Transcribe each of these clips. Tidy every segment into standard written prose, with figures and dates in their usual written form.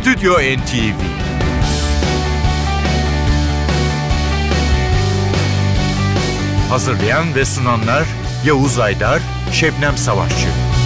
Stüdyo NTV. Hazırlayan ve sunanlar Yavuz Aydar, Şebnem Savaşçı.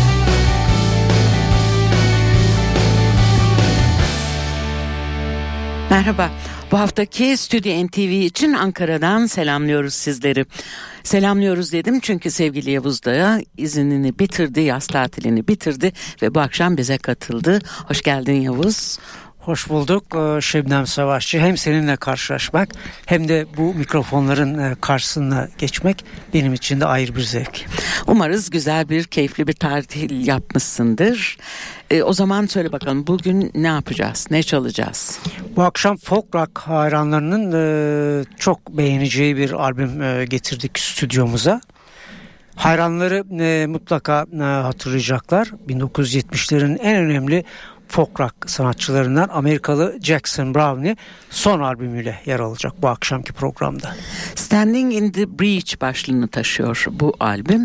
Merhaba. Bu haftaki Stüdyo NTV için Ankara'dan selamlıyoruz sizleri. Selamlıyoruz dedim çünkü sevgili Yavuz da iznini bitirdi, yaz tatilini bitirdi ve bu akşam bize katıldı. Hoş geldin Yavuz. Hoş bulduk Şebnem Savaşçı. Hem seninle karşılaşmak hem de bu mikrofonların karşısına geçmek benim için de ayrı bir zevk. Umarız güzel bir, keyifli bir tatil yapmışsındır. O zaman söyle bakalım, bugün ne yapacağız, ne çalacağız? Bu akşam folk rock hayranlarının çok beğeneceği bir albüm getirdik stüdyomuza. Hayranları mutlaka hatırlayacaklar. 1970'lerin en önemli folk rock sanatçılarından Amerikalı Jackson Browne son albümüyle yer alacak bu akşamki programda. Standing in the Breach başlığını taşıyor bu albüm.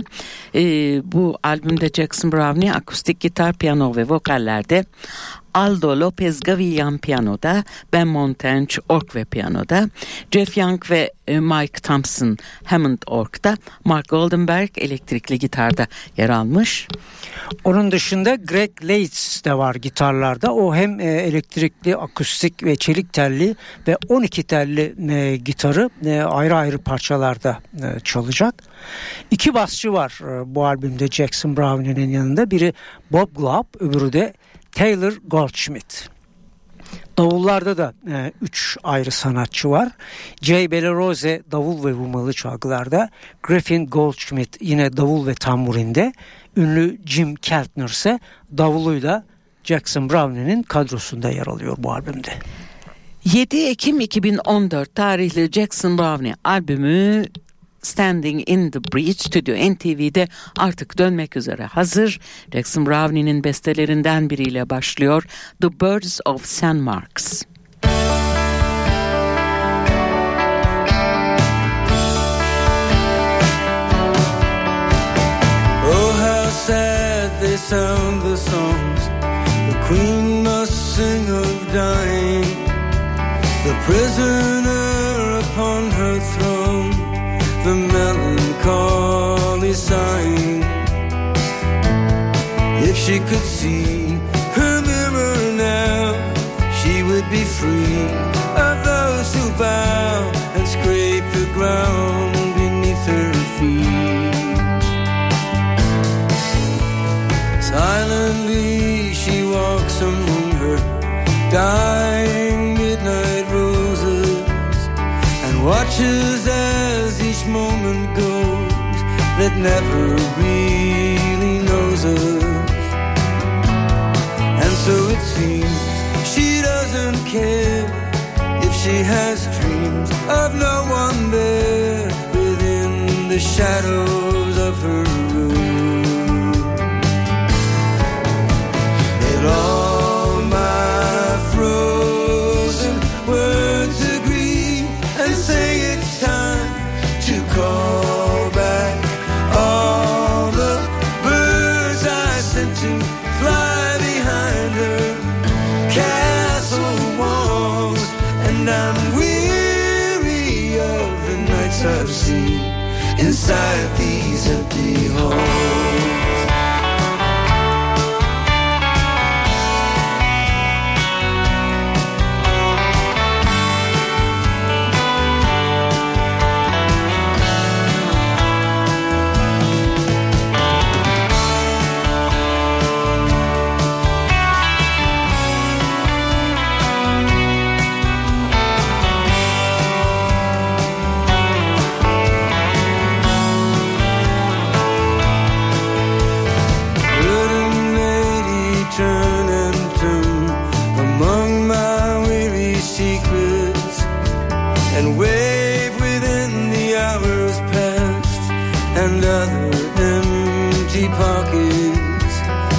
Bu albümde Jackson Browne akustik gitar, piyano ve vokallerde, Aldo Lopez Gavillan piyanoda, Ben Montench org ve piyanoda, Jeff Young ve Mike Thompson Hammond org'da, Mark Goldenberg elektrikli gitarda yer almış. Onun dışında Greg Leitz de var gitarlarda. O hem elektrikli, akustik ve çelik telli ve 12 telli gitarı ayrı ayrı parçalarda çalacak. İki basçı var bu albümde Jackson Browne'nin yanında. Biri Bob Glaub, öbürü de Taylor Goldschmidt. Davullarda da 3 ayrı sanatçı var. Jay Bellerose davul ve vurmalı çalgılarda, Griffin Goldschmidt yine davul ve tamburinde, ünlü Jim Keltner ise davuluyla Jackson Browne'nin kadrosunda yer alıyor bu albümde. 7 Ekim 2014 tarihli Jackson Browne albümü Standing in the Breach Stüdyo NTV'de artık dönmek üzere hazır. Jackson Browne'nin bestelerinden biriyle başlıyor. The Birds of St. Mark's. Oh, how sad they sound the songs the Queen must sing of dying, the prisoner upon her throne, the melancholy sighing. If she could see her mirror now, she would be free of those who bow and scrape the ground beneath her feet. Silently she walks among her dying midnight roses and watches as each moment goes that never really knows us. And so it seems she doesn't care if she has dreams of no one there within the shadows of her room. Let all my frozen words agree and say it's time to call back all the birds I sent to fly behind her castle walls. And I'm weary of the nights I've seen inside these empty halls. And other empty pockets.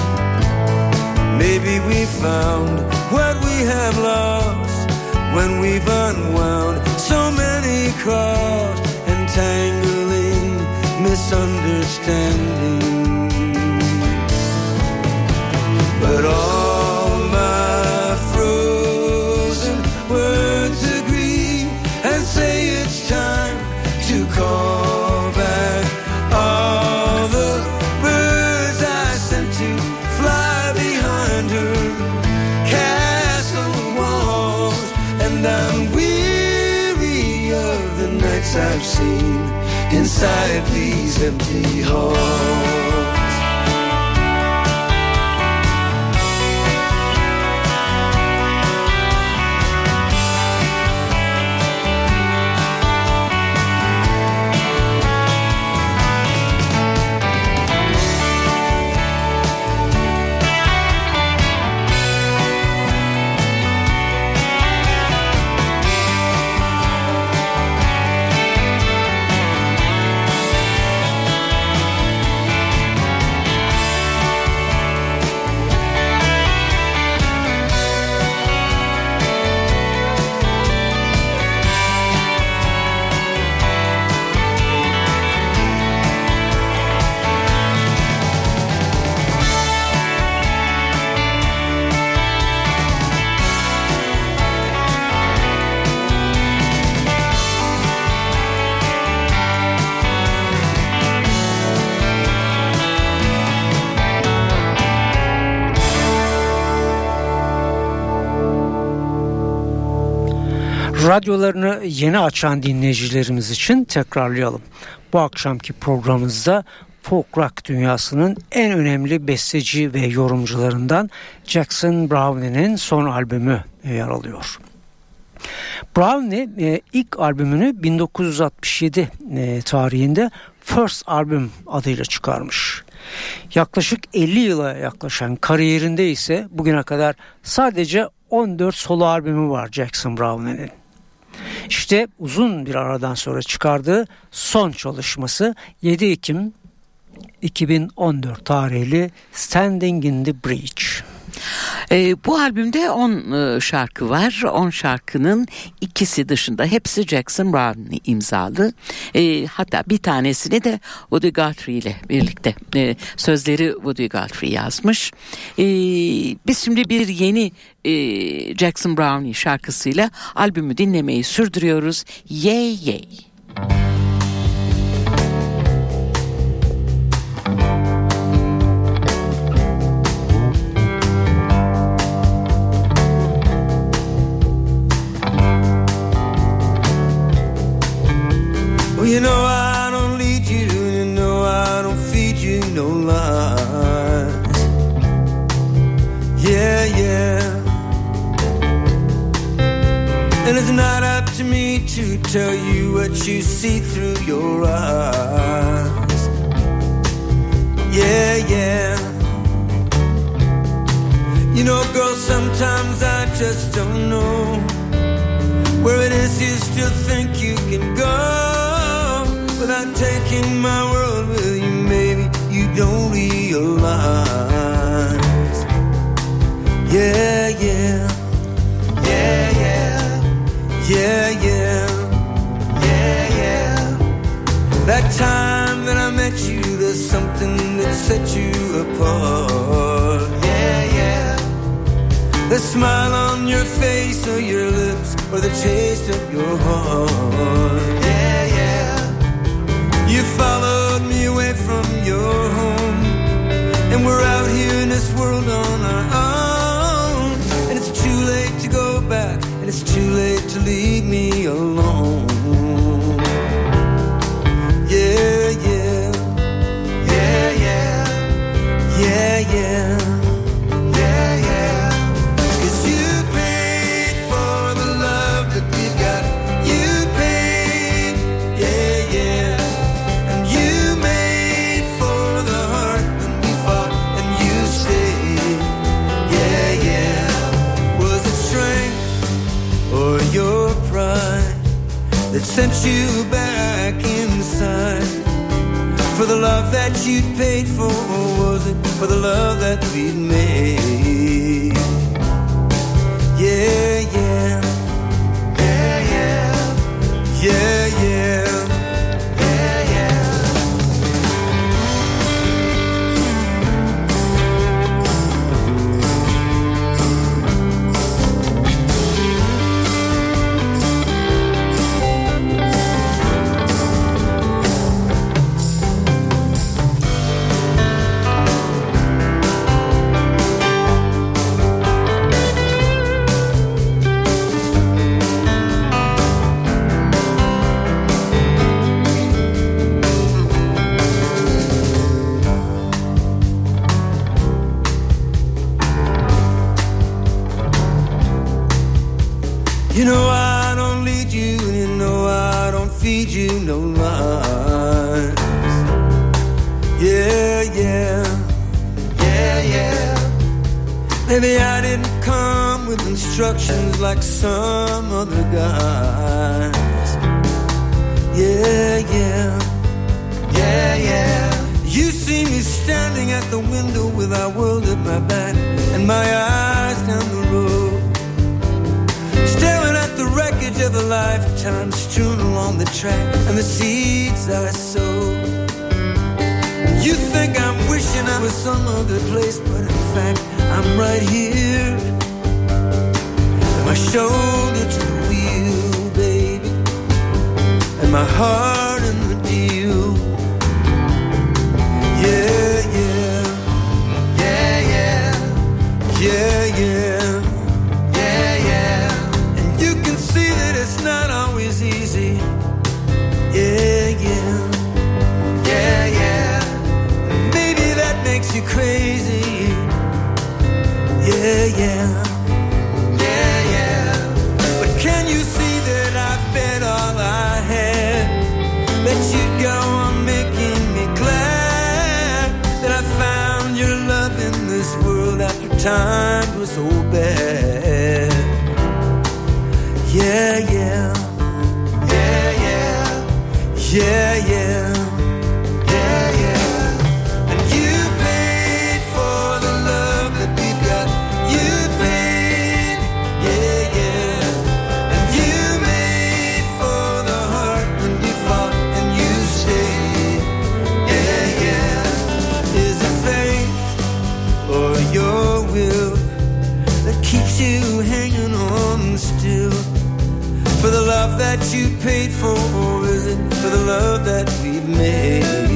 Maybe we found what we have lost when we've unwound so many crossed and tangling misunderstandings. But all my fruit lights I've seen inside these empty halls. Radyolarını yeni açan dinleyicilerimiz için tekrarlayalım. Bu akşamki programımızda folk rock dünyasının en önemli besteci ve yorumcularından Jackson Brownie'nin son albümü yer alıyor. Brownie ilk albümünü 1967 tarihinde First Album adıyla çıkarmış. Yaklaşık 50 yıla yaklaşan kariyerinde ise bugüne kadar sadece 14 solo albümü var Jackson Brownie'nin. İşte uzun bir aradan sonra çıkardığı son çalışması 7 Ekim 2014 tarihli Standing in the Breach. Bu albümde 10 şarkı var. 10 şarkının ikisi dışında hepsi Jackson Brownie imzalı. Hatta bir tanesini de Woody Guthrie ile birlikte sözleri Woody Guthrie yazmış. Biz şimdi bir yeni Jackson Brownie şarkısıyla albümü dinlemeyi sürdürüyoruz. Yay Yay. You know I don't lead you, you know I don't feed you no lies. Yeah, yeah. And it's not up to me to tell you what you see through your eyes. Yeah, yeah. You know, girl, sometimes I just don't know where it is you still think you can go. Without taking my world with you, maybe you don't realize. Yeah, yeah. Yeah, yeah. Yeah, yeah. Yeah, yeah. That time that I met you, there's something that set you apart. Yeah, yeah. The smile on your face or your lips or the taste of your heart. Yeah, yeah. You followed me away from your home, and we're out here in this world on our own. And it's too late to go back, and it's too late to leave me alone. Yeah, yeah. Yeah, yeah. Yeah, yeah. Yeah, yeah. 'Cause you paid for the love that we've got. You paid, yeah, yeah. Your pride that sent you back inside for the love that you paid for, or was it for the love that we'd made? Yeah, yeah. Yeah, yeah. Yeah, yeah. Yeah, yeah. You know I don't lead you, and you know I don't feed you no lies. Yeah, yeah, yeah, yeah. Maybe I didn't come with instructions like some other guys. Yeah, yeah, yeah, yeah. You see me standing at the window with our world at my back and my eyes down the road, staring at the wreckage of a lifetime strewn along the track and the seeds I sowed. You think I'm wishing I was some other place, but in fact I'm right here, with my shoulder to the wheel, baby, and my heart in the deal. Yeah, yeah, yeah, yeah, yeah, yeah, yeah, yeah. And you can see that it's not always easy. Yeah, yeah, yeah, yeah. Maybe that makes you crazy. Yeah, yeah, yeah, yeah. But can you see that I've bet all I had, let you go on making me glad that I found your love in this world after times were so bad. Yeah, yeah, yeah, yeah, yeah, yeah, yeah, yeah. And you paid for the love that we've got. You paid, yeah, yeah. And you made for the heart when we fought and you stayed. Yeah, yeah. Is it faith or your will that keeps you hanging on still? For the love that you paid for, or is it for the love that we've made?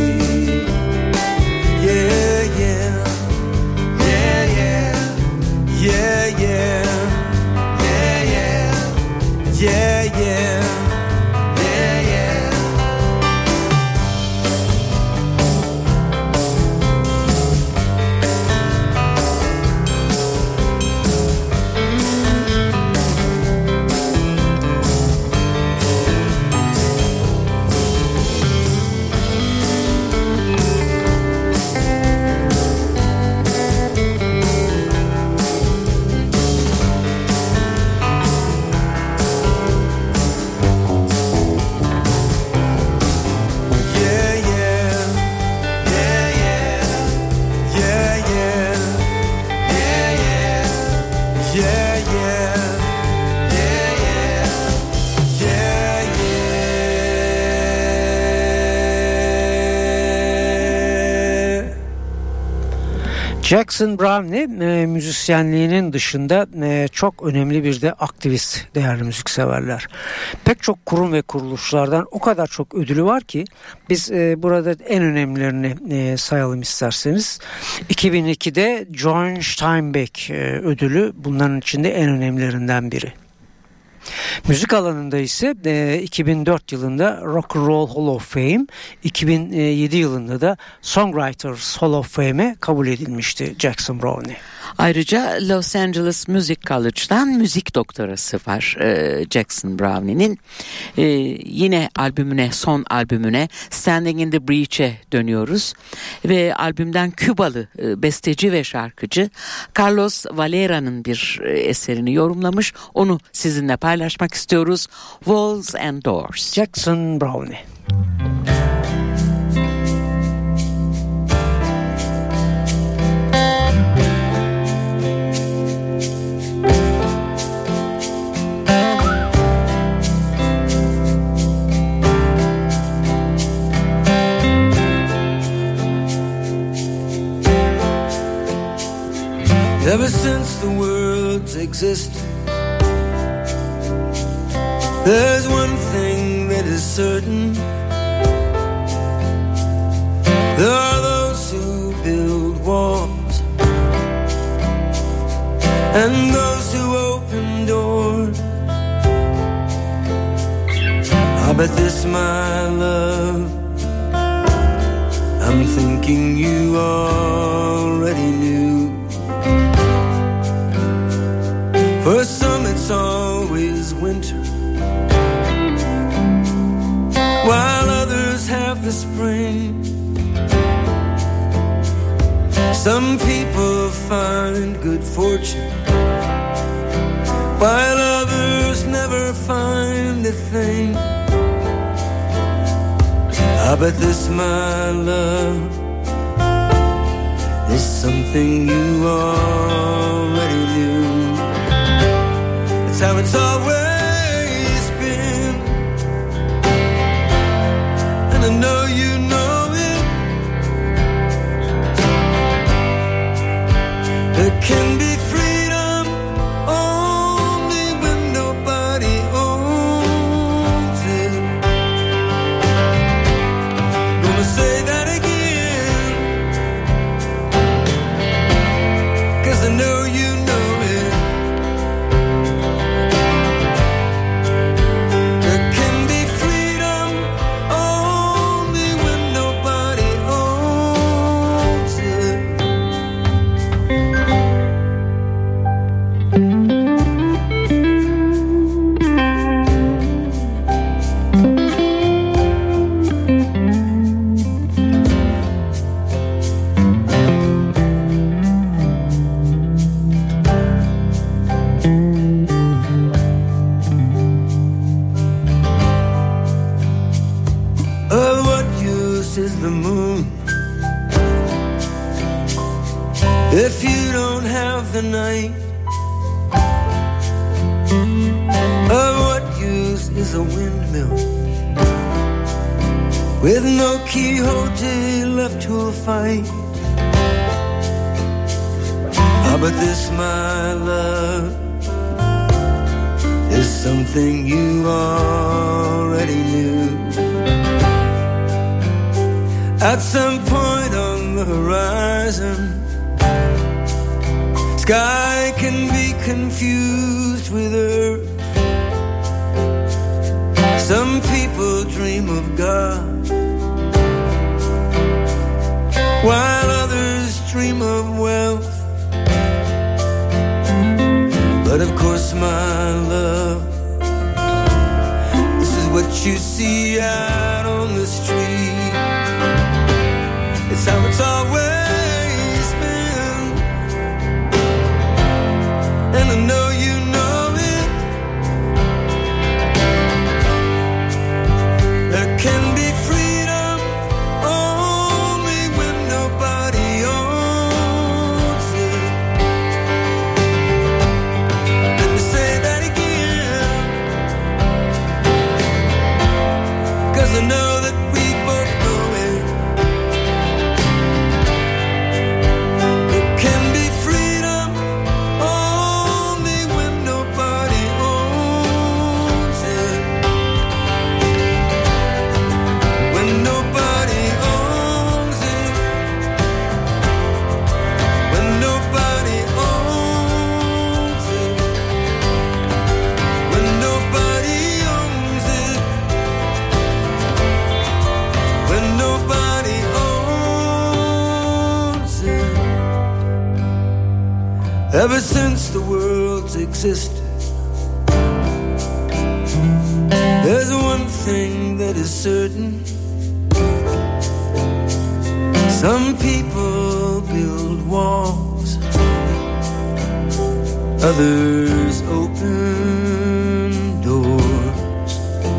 Yeah, yeah, yeah, yeah, yeah, yeah, yeah, yeah, yeah, yeah, yeah, yeah. Jackson Browne müzisyenliğinin dışında çok önemli bir de aktivist değerli müzikseverler. Pek çok kurum ve kuruluşlardan o kadar çok ödülü var ki biz burada en önemlilerini sayalım isterseniz. 2002'de John Steinbeck ödülü bunların içinde en önemlilerinden biri. Müzik alanında ise 2004 yılında Rock and Roll Hall of Fame, 2007 yılında da Songwriters Hall of Fame'e kabul edilmişti Jackson Browne. Ayrıca Los Angeles Music College'dan müzik doktorası var Jackson Browne'nin. Yine son albümüne Standing in the Breach'e dönüyoruz. Ve albümden Kübalı besteci ve şarkıcı Carlos Valera'nın bir eserini yorumlamış. Onu sizinle paylaşmak istiyoruz. Walls and Doors. Jackson Browne. Ever since the world's existed, there's one thing that is certain. There are those who build walls and those who open doors. I bet this, my love, I'm thinking you already knew. For some it's always the spring. Some people find good fortune, while others never find a thing. But this, my love, is something you already knew. It's how it's always been, and I know you know it. There can be freedom only when nobody owns it. Gonna say that again, 'cause I know you know it. There can be freedom only when nobody owns it. Of what use is the moon if you don't have the night? Of what use is a windmill with no Quixote left to fight? But this, my love, is something you already knew. At some point on the horizon, sky can be confused with earth. Some people dream of God, while others dream of wealth. But of course, my love, this is what you see out on the street. It's how it's always been, and I know you know it. There can be freedom only when nobody owns it. Let me say that again, 'cause I know that we both know it. There can be freedom only when nobody owns it. When nobody owns it. When nobody owns it. When nobody owns it. When nobody owns it. Ever since the world's existed, there's one thing that is certain. Some people build walls, others open doors.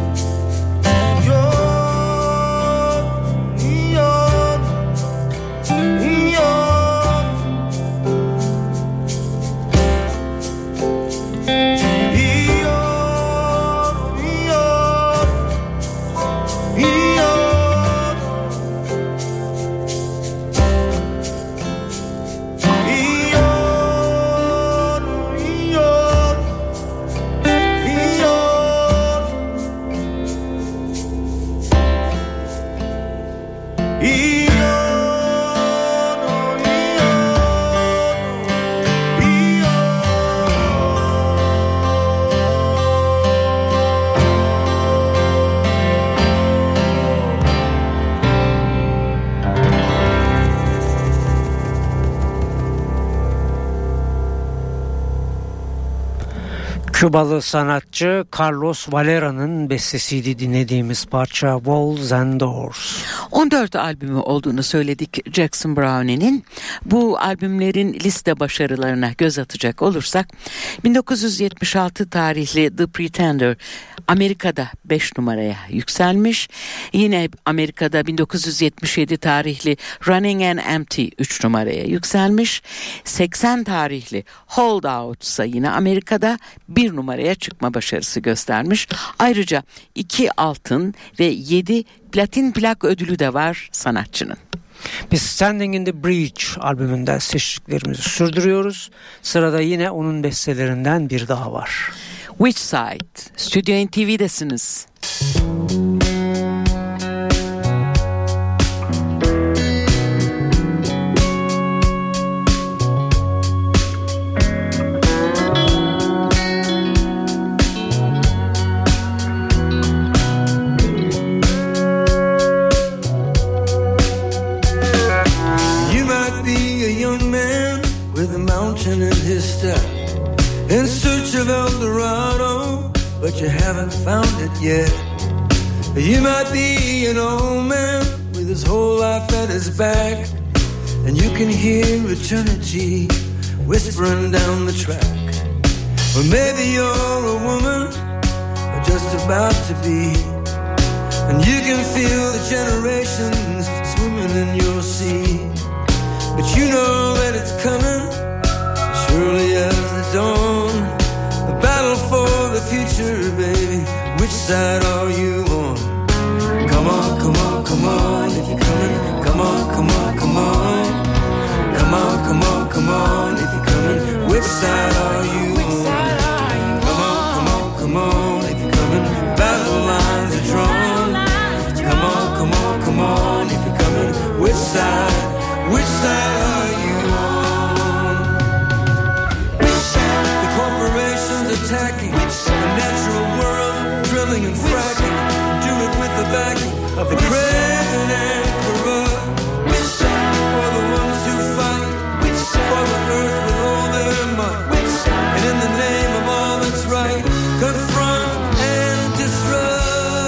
Kübalı sanatçı Carlos Valera'nın bestesiydi dinlediğimiz parça Walls and Doors. 14 albümü olduğunu söyledik Jackson Brownie'nin. Bu albümlerin liste başarılarına göz atacak olursak 1976 tarihli The Pretender Amerika'da 5 numaraya yükselmiş. Yine Amerika'da 1977 tarihli Running and Empty 3 numaraya yükselmiş. 80 tarihli Hold Out ise yine Amerika'da 1 numaraya çıkma başarısı göstermiş. Ayrıca 2 altın ve 7 platin plak ödülü de var sanatçının. Biz Standing in the Breach albümünden seçtiklerimizi sürdürüyoruz. Sırada yine onun bestelerinden bir daha var. Which Side? Stüdyo NTV'desiniz. In his step, in search of El Dorado, but you haven't found it yet. You might be an old man with his whole life at his back, and you can hear eternity whispering down the track. Or maybe you're a woman, or just about to be, and you can feel the generations swimming in your sea. But you know that it's coming early as the dawn, the battle for the future, baby. Which side are you on? Come on, come on, come on, if you're coming. Come on, come on, come on. Come on, come on, come on, if you're coming. Which side are you on? Come on, come on, come on, if you're coming. Battle lines are drawn. Come on, come on, come on, if you're coming. Which side? Which side are you on? Attacking the natural world, drilling and fracking, do it with the backing of the craven and corrupt. For the ones who fight for the earth with all their might, and in the name of all that's right, confront and disrupt.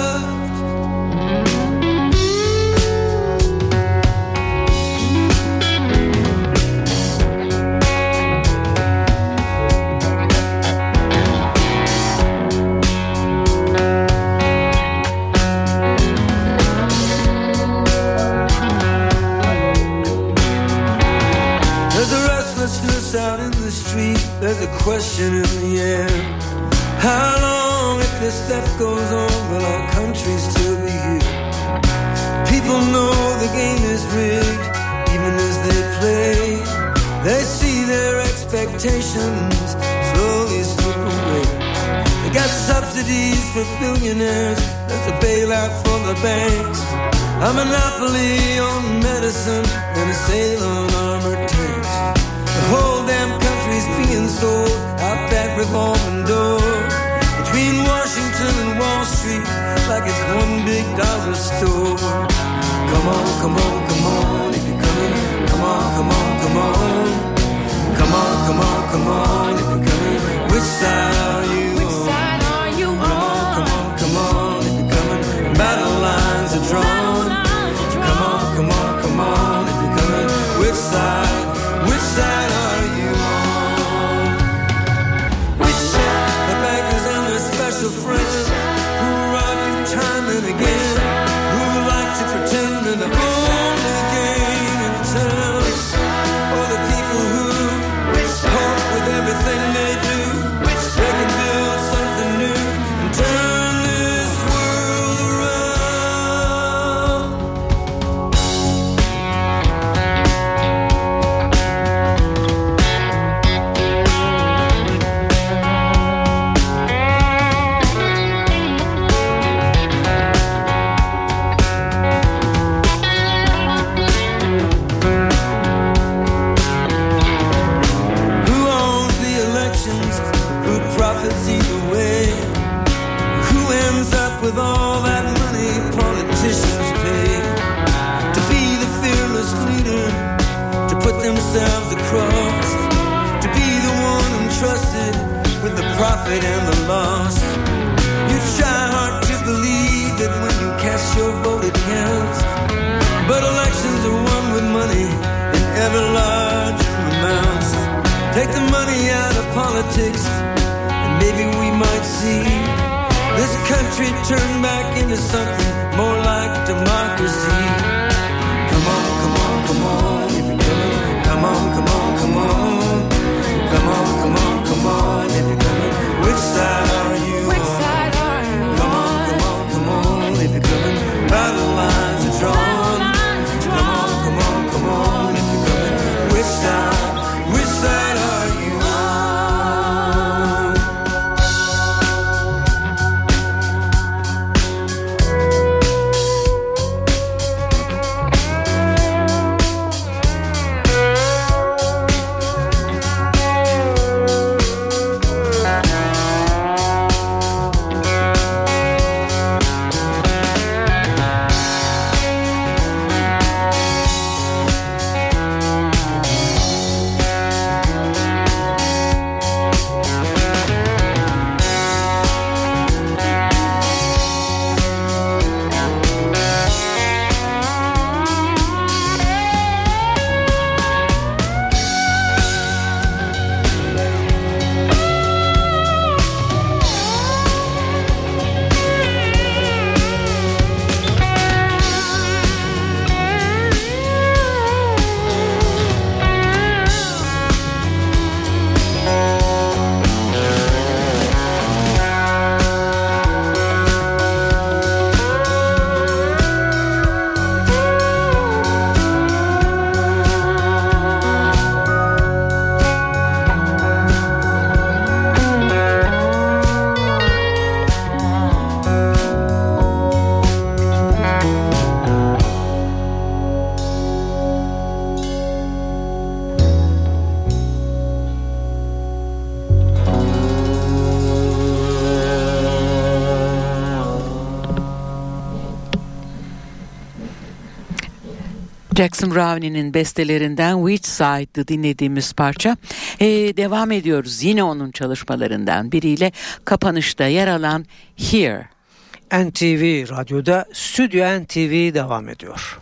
Out in the street, there's a question in the air. How long, if this theft goes on, will our country still be here? People know the game is rigged, even as they play. They see their expectations slowly slip away. They got subsidies for billionaires, there's a bailout for the banks, a monopoly on medicine, and a sale on armored tanks. The whole damn country's being sold out that revolving door between Washington and Wall Street, like it's one big dollar store. Come on, come on, come on, if you're coming. Come on, come on, come on. Come on, come on, come on, if you're coming. Which side are you on? Which side are you on? Come on, come on, come on, if you're coming. Battle lines are drawn. Come on, come on, come on, if you're coming. Which side? Which side are you on? Which side? The bankers and their special friends who rob you time and again, who like to pretend in the only game in town. Or the people who hope with everything they do they can build something new and turn this world around. Profits either way. Who ends up with all that money politicians pay to be the fearless leader, to put themselves across, to be the one entrusted with the profit and the loss. You try hard to believe that when you cast your vote it counts, politics, and maybe we might see this country turn back into something more like democracy. Come on, come on, come on, if you're coming. Come on, come on, come on. Come on, come on, come on, if you're coming. Which side are you on? Which side are you on? Come on, come on, come on, if you're coming. By the lines are drawn. Come on, come on, come on, if you're coming. Which side are you on? Jackson Brownie'nin bestelerinden Which Side'dı dinlediğimiz parça. Devam ediyoruz yine onun çalışmalarından biriyle, kapanışta yer alan Here. NTV Radyo'da Stüdyo NTV devam ediyor.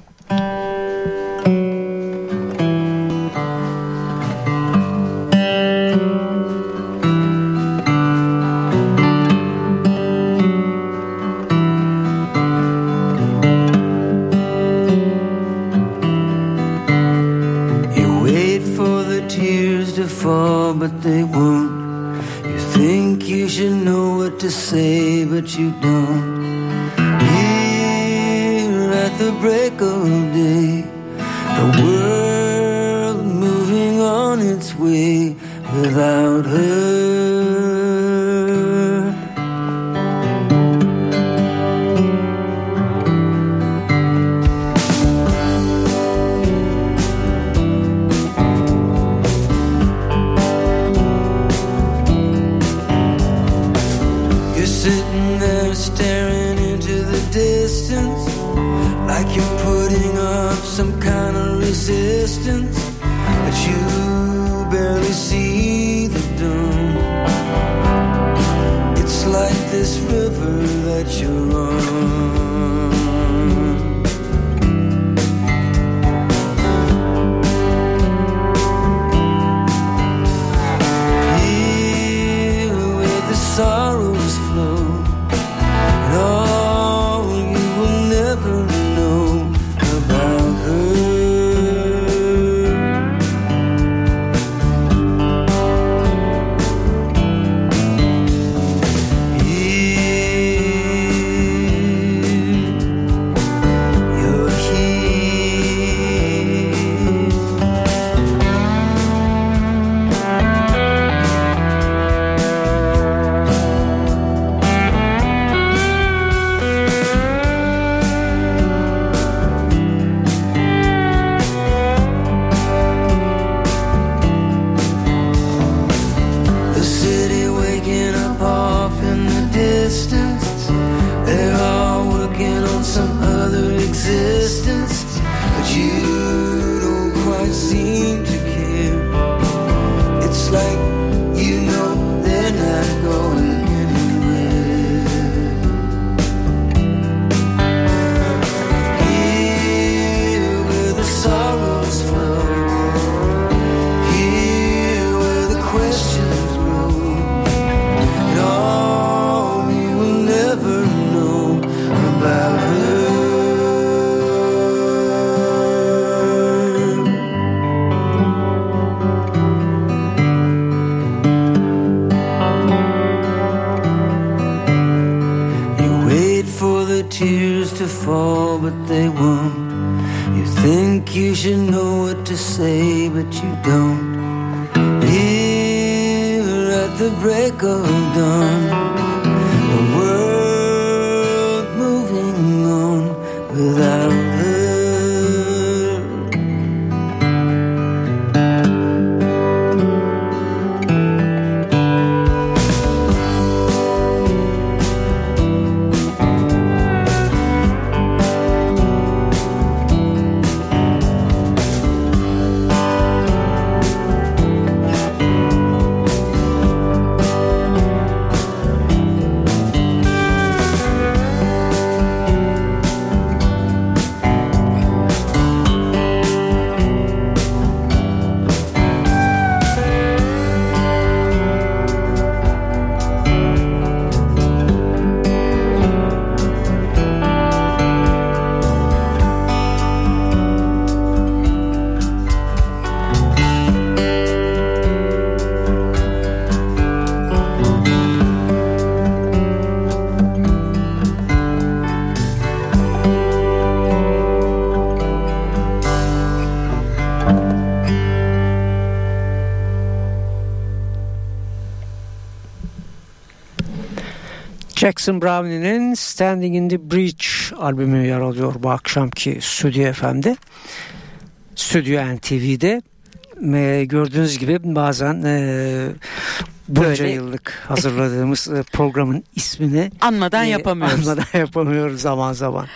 Fall, but they won't. You think you should know what to say, but you don't. Here at the break of day, the world moving on its way without her. Staring into the distance, like you're putting up some kind of resistance, but you barely see the dawn. It's like this river that you're on. Here where the sorrows flow, you will never know about her. You're questions grow. fall, but they won't. You think you should know what to say, but you don't. Here at the break of dawn, the world moving on without her. Jackson Brownie'nin Standing in the Breach albümü yer alıyor bu akşamki Stüdyo FM'de. Stüdyo NTV'de. Gördüğünüz gibi bazen bunca Böyle yıllık hazırladığımız programın ismini anmadan yapamıyoruz zaman zaman.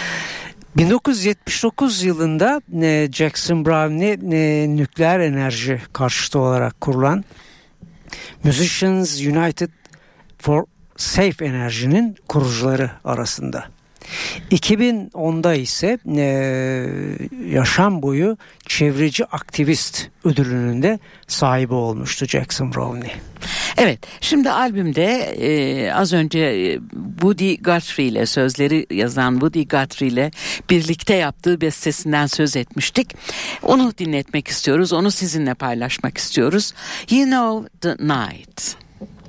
1979 yılında Jackson Brownie nükleer enerji karşıtı olarak kurulan Musicians United for Safe Enerji'nin kurucuları arasında. 2010'da ise yaşam boyu çevreci aktivist ödülünün de sahibi olmuştu Jackson Brownie. Evet, şimdi albümde az önce Woody Guthrie ile sözleri yazan Woody Guthrie ile birlikte yaptığı bestesinden söz etmiştik. Onu dinletmek istiyoruz, onu sizinle paylaşmak istiyoruz. You Know the Night.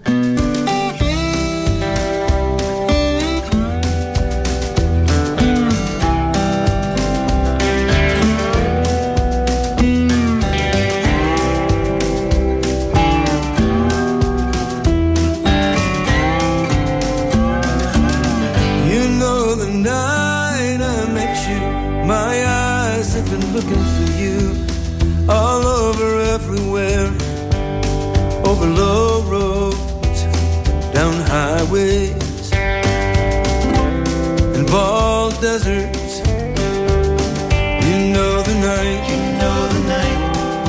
Looking for you all over, everywhere, over low roads, down highways, and bald deserts. You know the night, you know the night,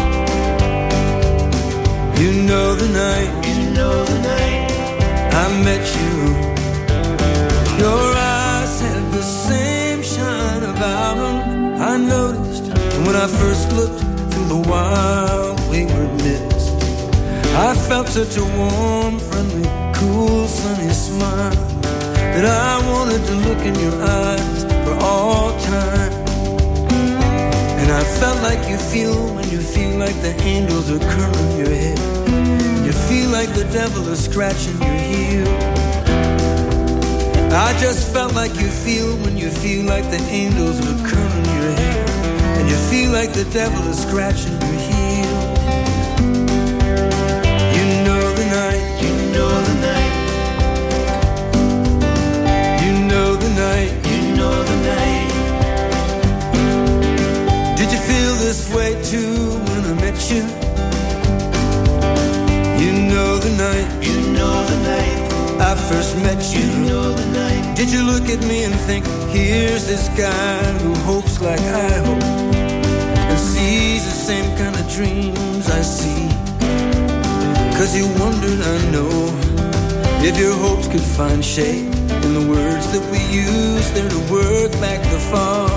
you know the night, you know the night I met you. Your eyes had the same shine about them. I noticed when I first looked through the wild wayward mist. I felt such a warm, friendly, cool, sunny smile that I wanted to look in your eyes for all time. And I felt like you feel when you feel like the angels are curling your head, you feel like the devil is scratching your heel. I just felt like you feel when you feel like the angels are curling your hair, and you feel like the devil is scratching your heel. You know the night, you know the night, you know the night, you know the night. Did you feel this way too when I met you? You know the night, you know the night I first met you. You know the night. Did you look at me and think, here's this guy who hopes like I hope, and sees the same kind of dreams I see? Cause you wondered, I know, if your hopes could find shape in the words that we use there to work back the fog.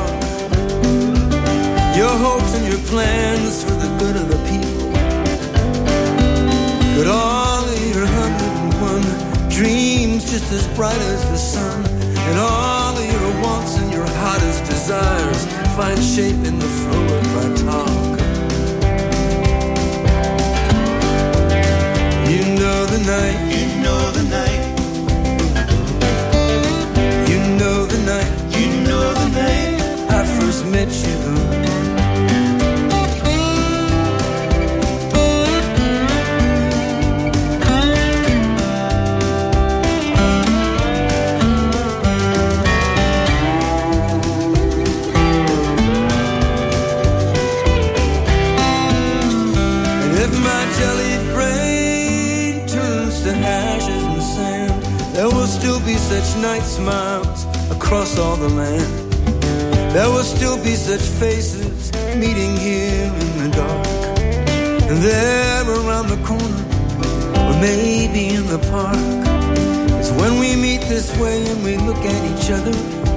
Your hopes and your plans for the good of the people, could all of your 101 dreams just as bright as the sun, and all of your wants and your hottest desires find shape in the flow of my talk. You know the night, you know the night, you know the night, you know the there will still be such night smiles across all the land. There will still be such faces meeting here in the dark. And there around the corner, or maybe in the park, it's when we meet this way and we look at each other.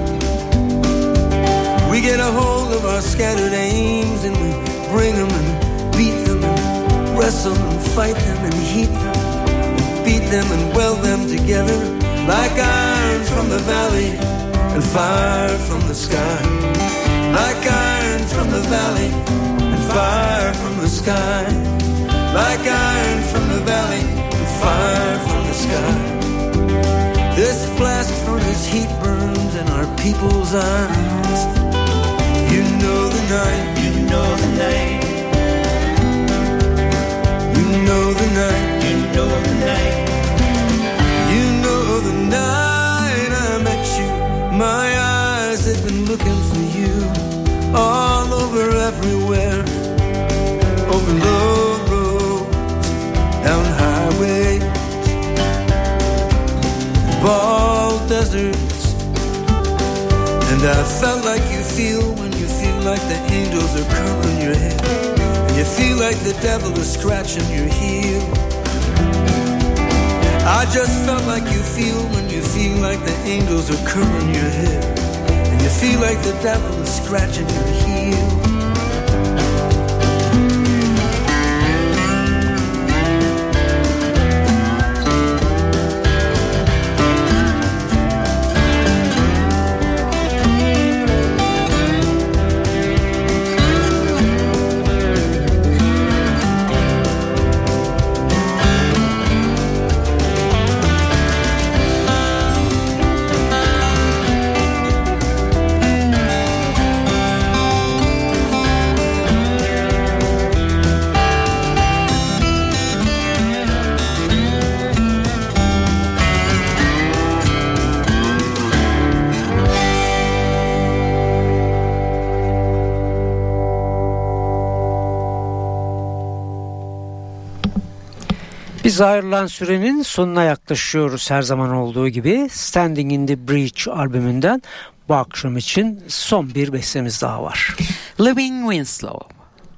We get a hold of our scattered aims and we bring them and beat them and wrestle and fight them and heat them and beat them and weld them together like iron from the valley and fire from the sky. Like iron from the valley and fire from the sky. Like iron from the valley and fire from the sky. This blast furnace heat burns in our people's eyes. You know the night, you know the night. You know the night, you know the night. You know the night I met you. My eyes have been looking for you all over everywhere. Over low roads, down highways, bald deserts. And I felt like you feel when you feel like the angels are curling your head, and you feel like the devil is scratching your heel. I just felt like you feel when you feel like the angels are curling your head, and you feel like the devil is scratching your heel. Biz ayrılan sürenin sonuna yaklaşıyoruz her zaman olduğu gibi. Standing in the Breach albümünden bu akşam için son bir bestemiz daha var. Living Winslow.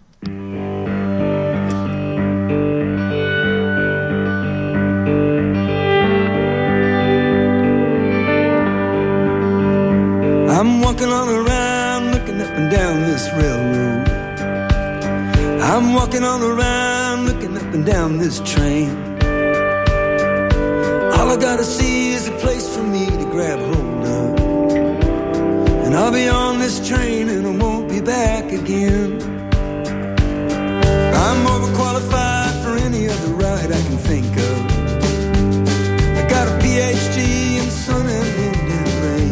I'm walking all around looking up and down this railroad. I'm walking all around looking up and down this train. All I gotta see is a place for me to grab hold of, and I'll be on this train and I won't be back again. I'm overqualified for any other ride I can think of. I got a PhD in sun and wind and rain.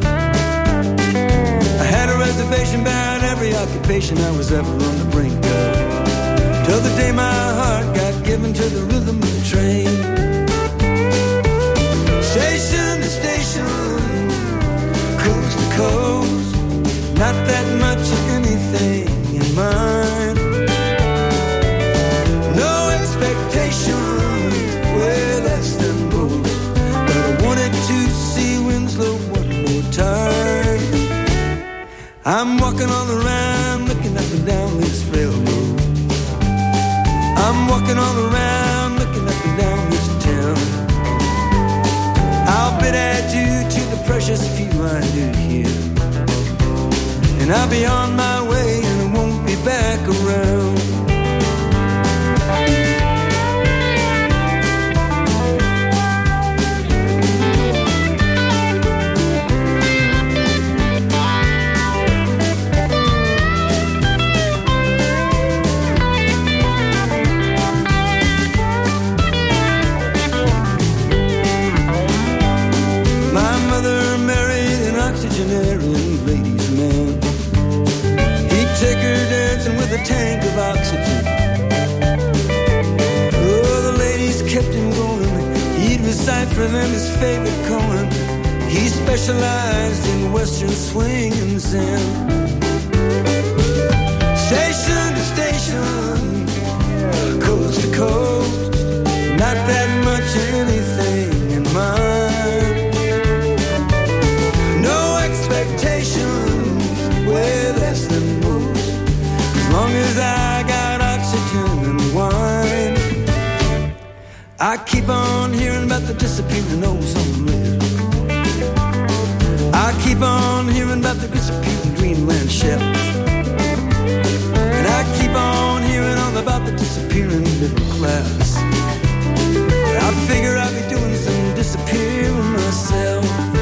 I had a reservation about every occupation I was ever on the brink of, till the day my heart got given to the rhythm of the train. Station to station, coast to coast, not that much of anything in mind. No expectations, way less than most, but I wanted to see Winslow one more time. I'm walking all around, looking up and down this railroad. I'm walking all around, looking up and down this town. I'll bid adieu to the precious few I do here, and I'll be on my way and I won't be back around. Octogenarian ladies man, he'd take her dancing with a tank of oxygen. Oh, the ladies kept him going. He'd recite for them his favorite poem. He specialized in western swing and zen. Station to station, coast to coast, not that much anything in mind. I keep on hearing about the disappearing old somewhere. I keep on hearing about the disappearing Greenland shells. And I keep on hearing all about the disappearing middle class. I figure I'll be doing some disappearing myself.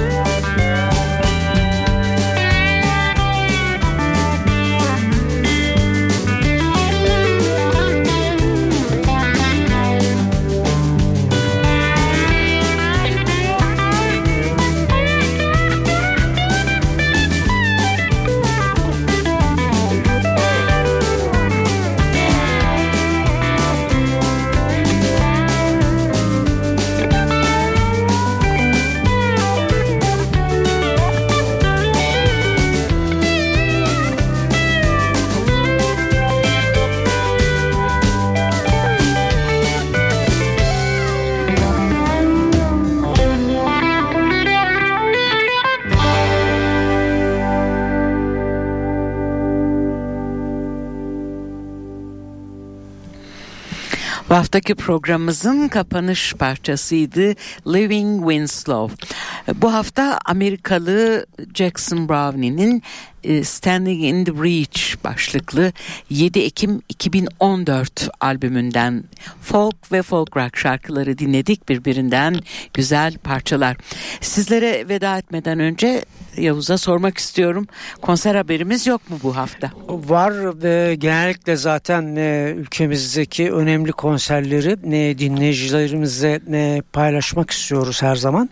Bu haftaki programımızın kapanış parçasıydı Living Winslow. Bu hafta Amerikalı Jackson Brownie'nin Standing in the Breach başlıklı 7 Ekim 2014 albümünden folk ve folk rock şarkıları dinledik, birbirinden güzel parçalar. Sizlere veda etmeden önce Yavuz'a sormak istiyorum. Konser haberimiz yok mu bu hafta? Var ve genellikle zaten ülkemizdeki önemli konserleri dinleyicilerimizle paylaşmak istiyoruz her zaman.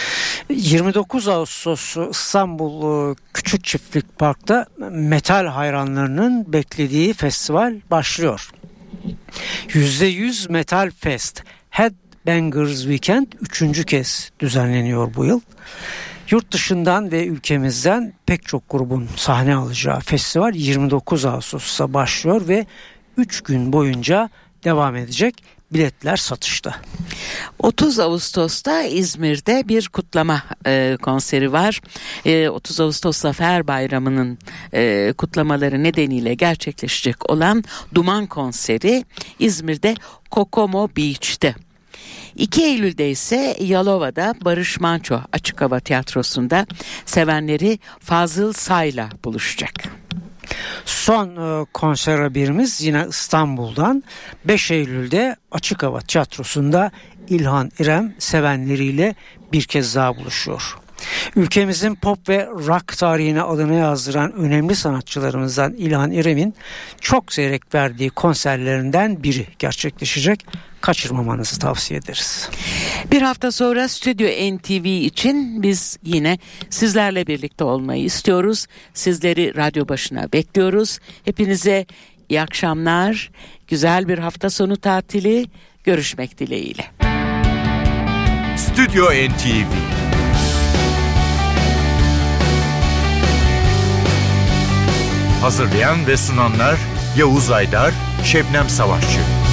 29 Ağustos İstanbul Küçük Çiftlik Park'ta metal hayranlarının beklediği festival başlıyor. %100 Metal Fest Headbangers Weekend 3. kez düzenleniyor bu yıl. Yurt dışından ve ülkemizden pek çok grubun sahne alacağı festival 29 Ağustos'ta başlıyor ve 3 gün boyunca devam edecek. Biletler satışta. 30 Ağustos'ta İzmir'de bir kutlama konseri var. 30 Ağustos Zafer Bayramı'nın kutlamaları nedeniyle gerçekleşecek olan Duman konseri İzmir'de Kokomo Beach'te. 2 Eylül'de ise Yalova'da Barış Manço Açık Hava Tiyatrosu'nda sevenleri Fazıl Say'la buluşacak. Son konser haberimiz yine İstanbul'dan. 5 Eylül'de Açık Hava Tiyatrosu'nda İlhan İrem sevenleriyle bir kez daha buluşuyor. Ülkemizin pop ve rock tarihine adını yazdıran önemli sanatçılarımızdan İlhan İrem'in çok zevk verdiği konserlerinden biri gerçekleşecek. Kaçırmamanızı tavsiye ederiz. Bir hafta sonra Stüdyo NTV için biz yine sizlerle birlikte olmayı istiyoruz. Sizleri radyo başına bekliyoruz. Hepinize iyi akşamlar, güzel bir hafta sonu tatili, görüşmek dileğiyle. Stüdyo NTV. Hazırlayan ve sunanlar Yavuz Aydar, Şebnem Savaşçı.